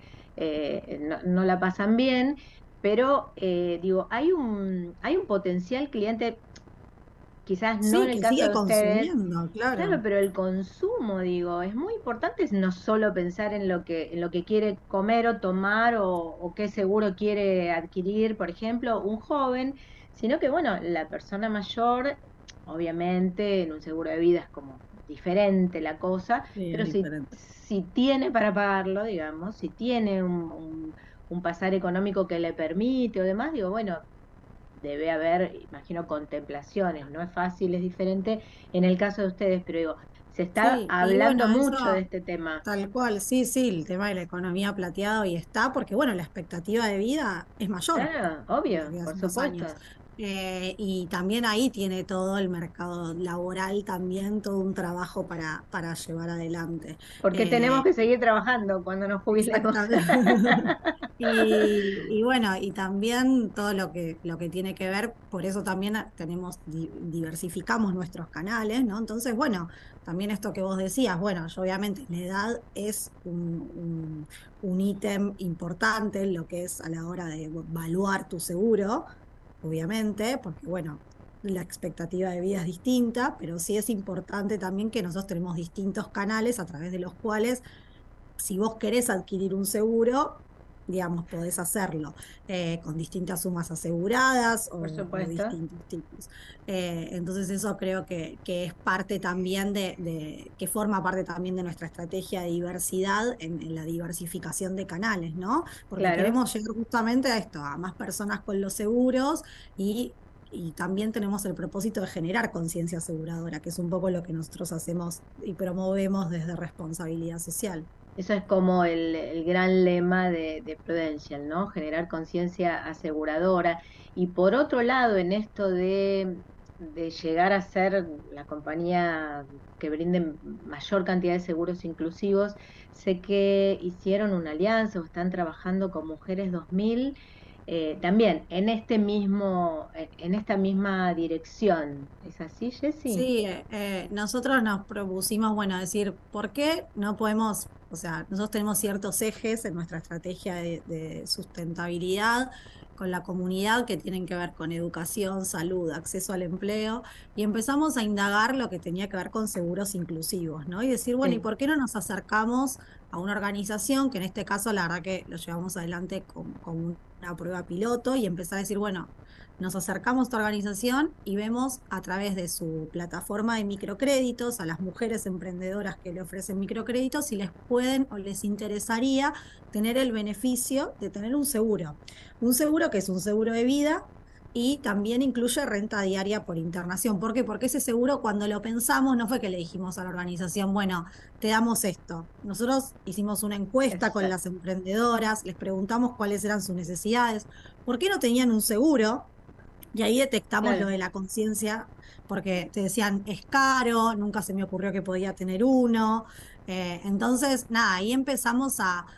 no la pasan bien, pero digo, hay un potencial cliente, quizás no Sí, en el que caso sigue de ustedes. consumiendo, Claro, claro. pero el consumo, digo, es muy importante no solo pensar en lo que quiere comer o tomar o qué seguro quiere adquirir, por ejemplo, un joven, sino que, bueno, la persona mayor, obviamente, en un seguro de vida es como diferente la cosa, Sí, es pero si, diferente. si tiene para pagarlo, digamos, si tiene un pasar económico que le permite o demás, digo, bueno, debe haber, imagino, contemplaciones, no es fácil, es diferente en el caso de ustedes, pero digo, se está Sí, y hablando bueno, mucho de eso este tema. tal cual, sí, sí, el tema de la economía plateada hoy está, porque bueno, la expectativa de vida es mayor Claro, de lo obvio, que por hace unos años. supuesto. Y también ahí tiene todo el mercado laboral, también todo un trabajo para llevar adelante. Porque tenemos Eh, que seguir trabajando cuando nos jubilemos. Exactamente. Y bueno, y también todo lo que tiene que ver, por eso también diversificamos nuestros canales, ¿no? Entonces, bueno, también esto que vos decías, bueno, yo obviamente la edad es un ítem importante en lo que es a la hora de evaluar tu seguro, obviamente, porque bueno, la expectativa de vida es distinta, pero sí es importante también que nosotros tenemos distintos canales a través de los cuales si vos querés adquirir un seguro, digamos, podés hacerlo con distintas sumas aseguradas Por o supuesto. distintos tipos. Entonces eso creo que es parte también que forma parte también de nuestra estrategia de diversidad en la diversificación de canales, ¿no? Porque Claro. queremos llegar justamente a esto, a más personas con los seguros y también tenemos el propósito de generar conciencia aseguradora, que es un poco lo que nosotros hacemos y promovemos desde responsabilidad social. Eso es como el gran lema de Prudential, ¿no? Generar conciencia aseguradora. Y por otro lado, en esto de llegar a ser la compañía que brinde mayor cantidad de seguros inclusivos, sé que hicieron una alianza o están trabajando con Mujeres 2000, también en esta misma dirección. ¿Es así, Jessy? Sí, nosotros nos propusimos, bueno, decir, ¿por qué no podemos, o sea, nosotros tenemos ciertos ejes en nuestra estrategia de sustentabilidad con la comunidad que tienen que ver con educación, salud, acceso al empleo, y empezamos a indagar lo que tenía que ver con seguros inclusivos, ¿no? Y decir, bueno, ¿y Sí. por qué no nos acercamos a una organización que en este caso la verdad que lo llevamos adelante con una prueba piloto y empezar a decir, bueno, nos acercamos a esta organización y vemos a través de su plataforma de microcréditos a las mujeres emprendedoras que le ofrecen microcréditos si les pueden o les interesaría tener el beneficio de tener un seguro. Un seguro que es un seguro de vida y también incluye renta diaria por internación. ¿Por qué? Porque ese seguro cuando lo pensamos no fue que le dijimos a la organización, bueno, te damos esto. Nosotros hicimos una encuesta con Exacto. las emprendedoras, les preguntamos cuáles eran sus necesidades, por qué no tenían un seguro. Y ahí detectamos lo Claro. de la conciencia, porque te decían, es caro, nunca se me ocurrió que podía tener uno. Entonces, nada, ahí empezamos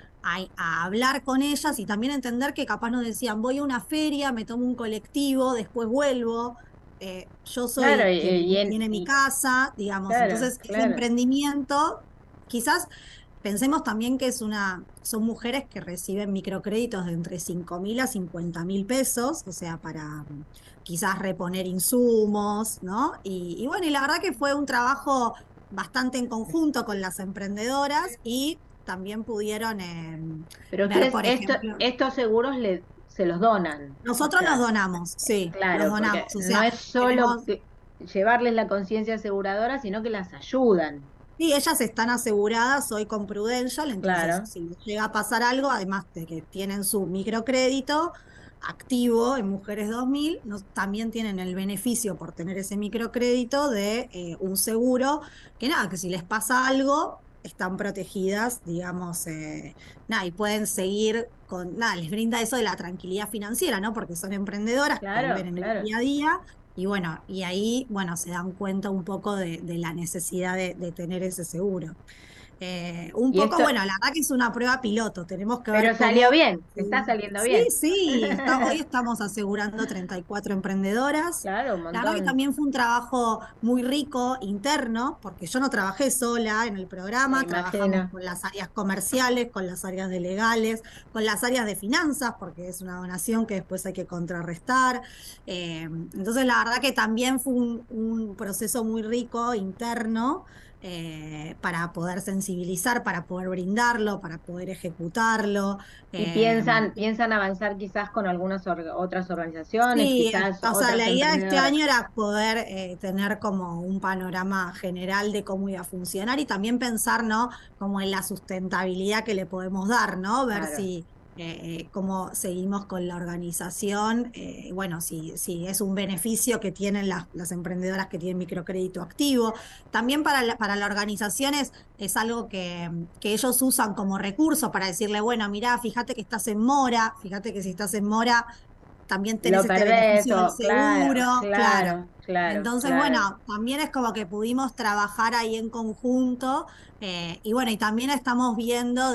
a hablar con ellas y también entender que capaz nos decían, voy a una feria, me tomo un colectivo, después vuelvo. Yo Claro, soy quien tiene mi casa, digamos. claro, Entonces, ese claro. emprendimiento, quizás pensemos también que son mujeres que reciben microcréditos de entre 5.000 a 50.000 pesos, o sea, para quizás reponer insumos, ¿no? Y bueno, y la verdad que fue un trabajo bastante en conjunto con las emprendedoras y también pudieron Pero ver, ustedes por ejemplo, estos seguros se los donan. O nosotros los sea, donamos, sí, los claro, porque donamos, o no sea, es solo tenemos. llevarles la conciencia aseguradora, sino que las ayudan. Sí, ellas están aseguradas hoy con Prudential, entonces Claro. si les llega a pasar algo, además de que tienen su microcrédito activo en Mujeres 2000, también tienen el beneficio por tener ese microcrédito de un seguro, que nada, que si les pasa algo, están protegidas, digamos, nada, y pueden seguir nada, les brinda eso de la tranquilidad financiera, ¿no? Porque son emprendedoras que Claro, viven en el claro. día a día y bueno, y ahí, bueno, se dan cuenta un poco de la necesidad de tener ese seguro. Un Y poco, esto, bueno, la verdad que es una prueba piloto, tenemos que ver pero salió cómo... bien, está saliendo Sí, bien. sí, hoy estamos asegurando 34 emprendedoras. Claro, un La verdad que montón. también fue un trabajo muy rico interno, porque yo no trabajé sola en el Me programa, trabajamos imagino. con las áreas comerciales, con las áreas de legales, con las áreas de finanzas, porque es una donación que después hay que contrarrestar. Entonces, la verdad que también fue un proceso muy rico interno para poder sensibilizar, para poder brindarlo, para poder ejecutarlo. Y Eh, piensan avanzar quizás con algunas otras organizaciones, Sí, quizás o sea, otras la idea de este emprendedoras. año era poder tener como un panorama general de cómo iba a funcionar y también pensar, ¿no? Como en la sustentabilidad que le podemos dar, ¿no? Ver Claro. si cómo seguimos con la organización, bueno, si es un beneficio que tienen las emprendedoras que tienen microcrédito activo. También para la organización es algo que ellos usan como recurso para decirle, bueno, mirá, fíjate que estás en mora, fíjate que si estás en mora también tenés Lo este perdés, beneficio del o claro, seguro, claro. claro, claro, Entonces, claro. bueno, también es como que pudimos trabajar ahí en conjunto y bueno, y también estamos viendo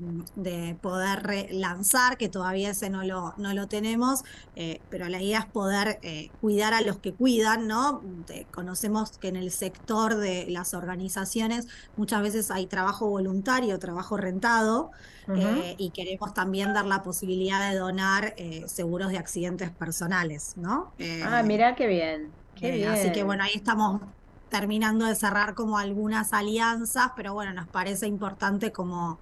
de poder lanzar, que todavía ese no lo tenemos, pero la idea es poder cuidar a los que cuidan, ¿no? Conocemos que en el sector de las organizaciones muchas veces hay trabajo voluntario, trabajo rentado Ujú. y queremos también dar la posibilidad de donar seguros de accidentes personales, ¿no? Ah, mirá qué bien, qué Así que bien. bueno, ahí estamos terminando de cerrar como algunas alianzas, pero bueno, nos parece importante como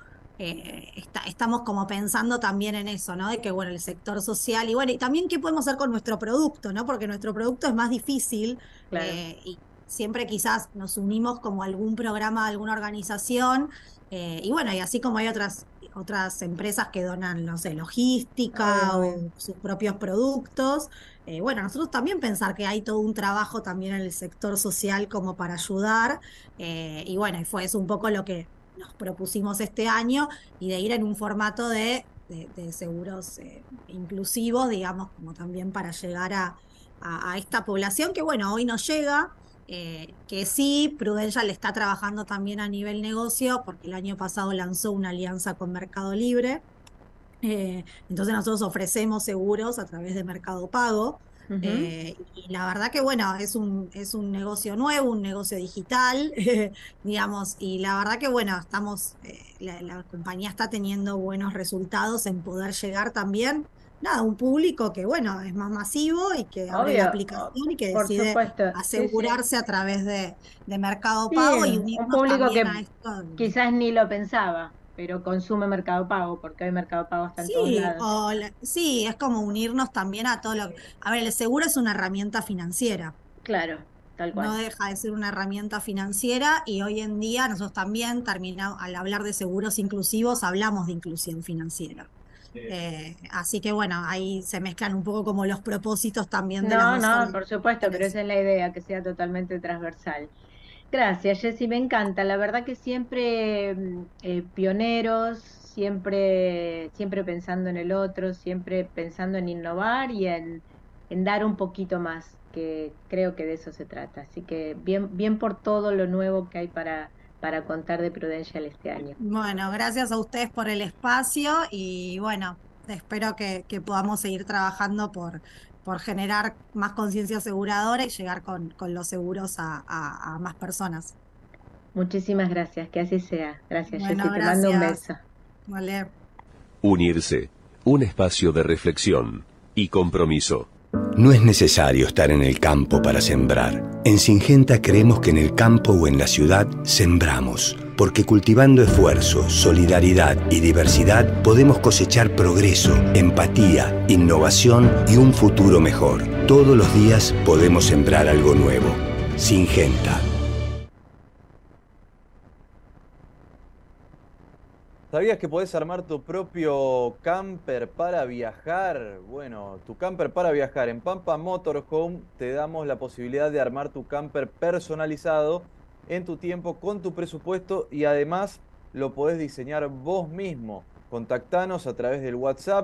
estamos como pensando también en eso, ¿no? De que bueno, el sector social y bueno, y también qué podemos hacer con nuestro producto, ¿no? Porque nuestro producto es más difícil Claro. y siempre quizás nos unimos como a algún programa, a alguna organización, y bueno, y así como hay otras empresas que donan, no sé, Obvio, logística obvio. o sus propios productos. Bueno, nosotros también pensar que hay todo un trabajo también en el sector social como para ayudar, y bueno, y fue eso un poco lo que nos propusimos este año y de ir en un formato de seguros inclusivos, digamos, como también para llegar a esta población que bueno, hoy nos llega. Que sí, Prudential está trabajando también a nivel negocio, porque el año pasado lanzó una alianza con Mercado Libre. Entonces nosotros ofrecemos seguros a través de Mercado Pago. Ujú. Y la verdad que bueno, es un negocio nuevo, un negocio digital, digamos, y la verdad que bueno, la compañía está teniendo buenos resultados en poder llegar también, nada, a un público que bueno, es más masivo y que abre la Obvio, aplicación y que por decide supuesto, sí, sí. asegurarse a través de Mercado Sí, Pago y un unirnos público también que a esto. quizás ni lo pensaba, pero consume Mercado Pago, porque hoy Mercado Pago está en todos Sí, lados. sí, es como unirnos también a todo A ver, el seguro es una herramienta financiera, Claro, tal no cual. deja de ser una herramienta financiera y hoy en día nosotros también terminamos, al hablar de seguros inclusivos, hablamos de inclusión financiera. Así que bueno, ahí se mezclan un poco como los propósitos también de las No, dos no, por supuesto, pero organizaciones. esa es la idea, que sea totalmente transversal. Gracias, Jessy, me encanta. La verdad que siempre pioneros, siempre pensando en el otro, siempre pensando en innovar y en dar un poquito más, que creo que de eso se trata. Así que bien, bien por todo lo nuevo que hay para contar de Prudential este año. Bueno, gracias a ustedes por el espacio y bueno, espero que podamos seguir trabajando por generar más conciencia aseguradora y llegar con los seguros a más personas. Muchísimas gracias, que así sea. Gracias, Jessy, Bueno, te mando un gracias. beso. Vale. Unirse, un espacio de reflexión y compromiso. No es necesario estar en el campo para sembrar. En Singenta creemos que en el campo o en la ciudad sembramos, porque cultivando esfuerzo, solidaridad y diversidad podemos cosechar progreso, empatía, innovación y un futuro mejor. Todos los días podemos sembrar algo nuevo. Singenta. ¿Sabías que podés armar tu propio camper para viajar? Bueno, tu camper para viajar. En Pampa Motorhome te damos la posibilidad de armar tu camper personalizado en tu tiempo, con tu presupuesto y además lo podés diseñar vos mismo. Contactanos a través del WhatsApp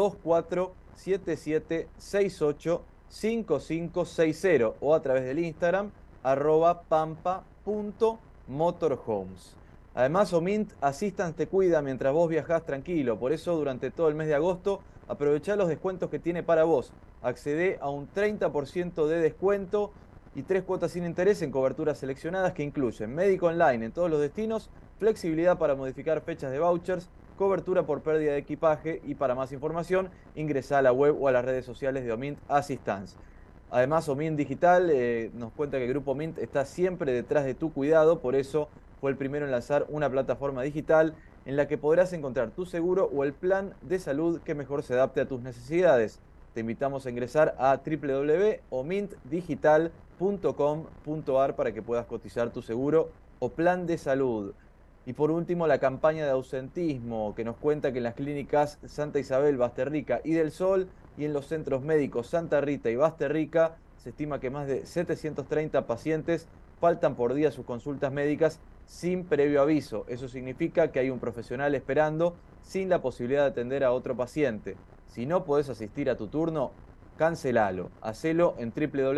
2477685560 o a través del Instagram @pampa.motorhomes. Además, Omint Assistance te cuida mientras vos viajás tranquilo. Por eso, durante todo el mes de agosto, aprovechá los descuentos que tiene para vos. Accedé a un 30% de descuento y 3 cuotas sin interés en coberturas seleccionadas que incluyen médico online en todos los destinos, flexibilidad para modificar fechas de vouchers, cobertura por pérdida de equipaje y para más información ingresá a la web o a las redes sociales de Omint Assistance. Además, Omint Digital nos cuenta que el Grupo Omint está siempre detrás de tu cuidado, por eso fue el primero en lanzar una plataforma digital en la que podrás encontrar tu seguro o el plan de salud que mejor se adapte a tus necesidades. Te invitamos a ingresar a www.omintdigital.com.ar para que puedas cotizar tu seguro o plan de salud. Y por último, la campaña de ausentismo, que nos cuenta que en las clínicas Santa Isabel, Basterrica y del Sol y en los centros médicos Santa Rita y Basterrica se estima que más de 730 pacientes faltan por día a sus consultas médicas sin previo aviso. Eso significa que hay un profesional esperando sin la posibilidad de atender a otro paciente. Si no podés asistir a tu turno, cancelalo. Hacelo en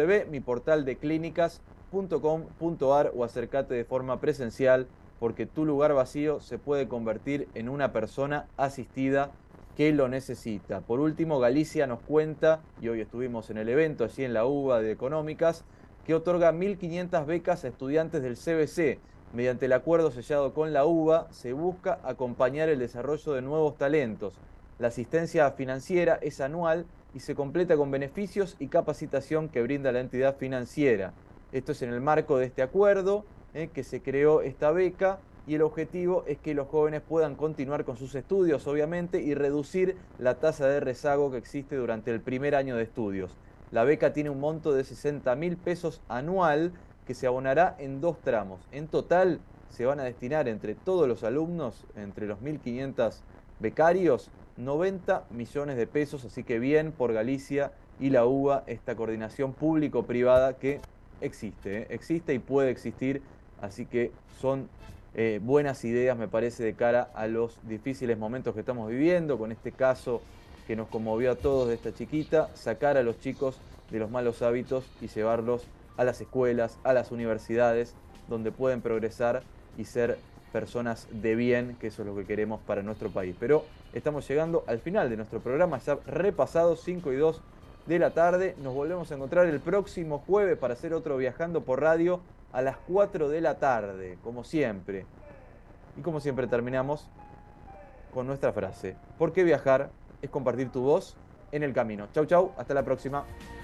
www.miportaldeclínicas.com.ar o acércate de forma presencial, porque tu lugar vacío se puede convertir en una persona asistida que lo necesita. Por último, Galicia nos cuenta, y hoy estuvimos en el evento allí en la UBA de Económicas, que otorga 1.500 becas a estudiantes del CBC. Mediante el acuerdo sellado con la UBA, se busca acompañar el desarrollo de nuevos talentos. La asistencia financiera es anual y se completa con beneficios y capacitación que brinda la entidad financiera. Esto es en el marco de este acuerdo que se creó esta beca, y el objetivo es que los jóvenes puedan continuar con sus estudios, obviamente, y reducir la tasa de rezago que existe durante el primer año de estudios. La beca tiene un monto de 60.000 pesos anual que se abonará en 2 tramos. En total se van a destinar entre todos los alumnos, entre los 1.500 becarios, 90 millones de pesos, así que bien por Galicia y la UBA, esta coordinación público-privada que existe y puede existir, así que son buenas ideas, me parece, de cara a los difíciles momentos que estamos viviendo, con este caso que nos conmovió a todos de esta chiquita, sacar a los chicos de los malos hábitos y llevarlos a las escuelas, a las universidades, donde pueden progresar y ser personas de bien, que eso es lo que queremos para nuestro país. Pero estamos llegando al final de nuestro programa, ya repasado, 5 y 2 de la tarde. Nos volvemos a encontrar el próximo jueves para hacer otro Viajando por Radio a las 4 de la tarde, como siempre. Y como siempre terminamos con nuestra frase: ¿por qué viajar es compartir tu voz en el camino? Chau, chau, hasta la próxima.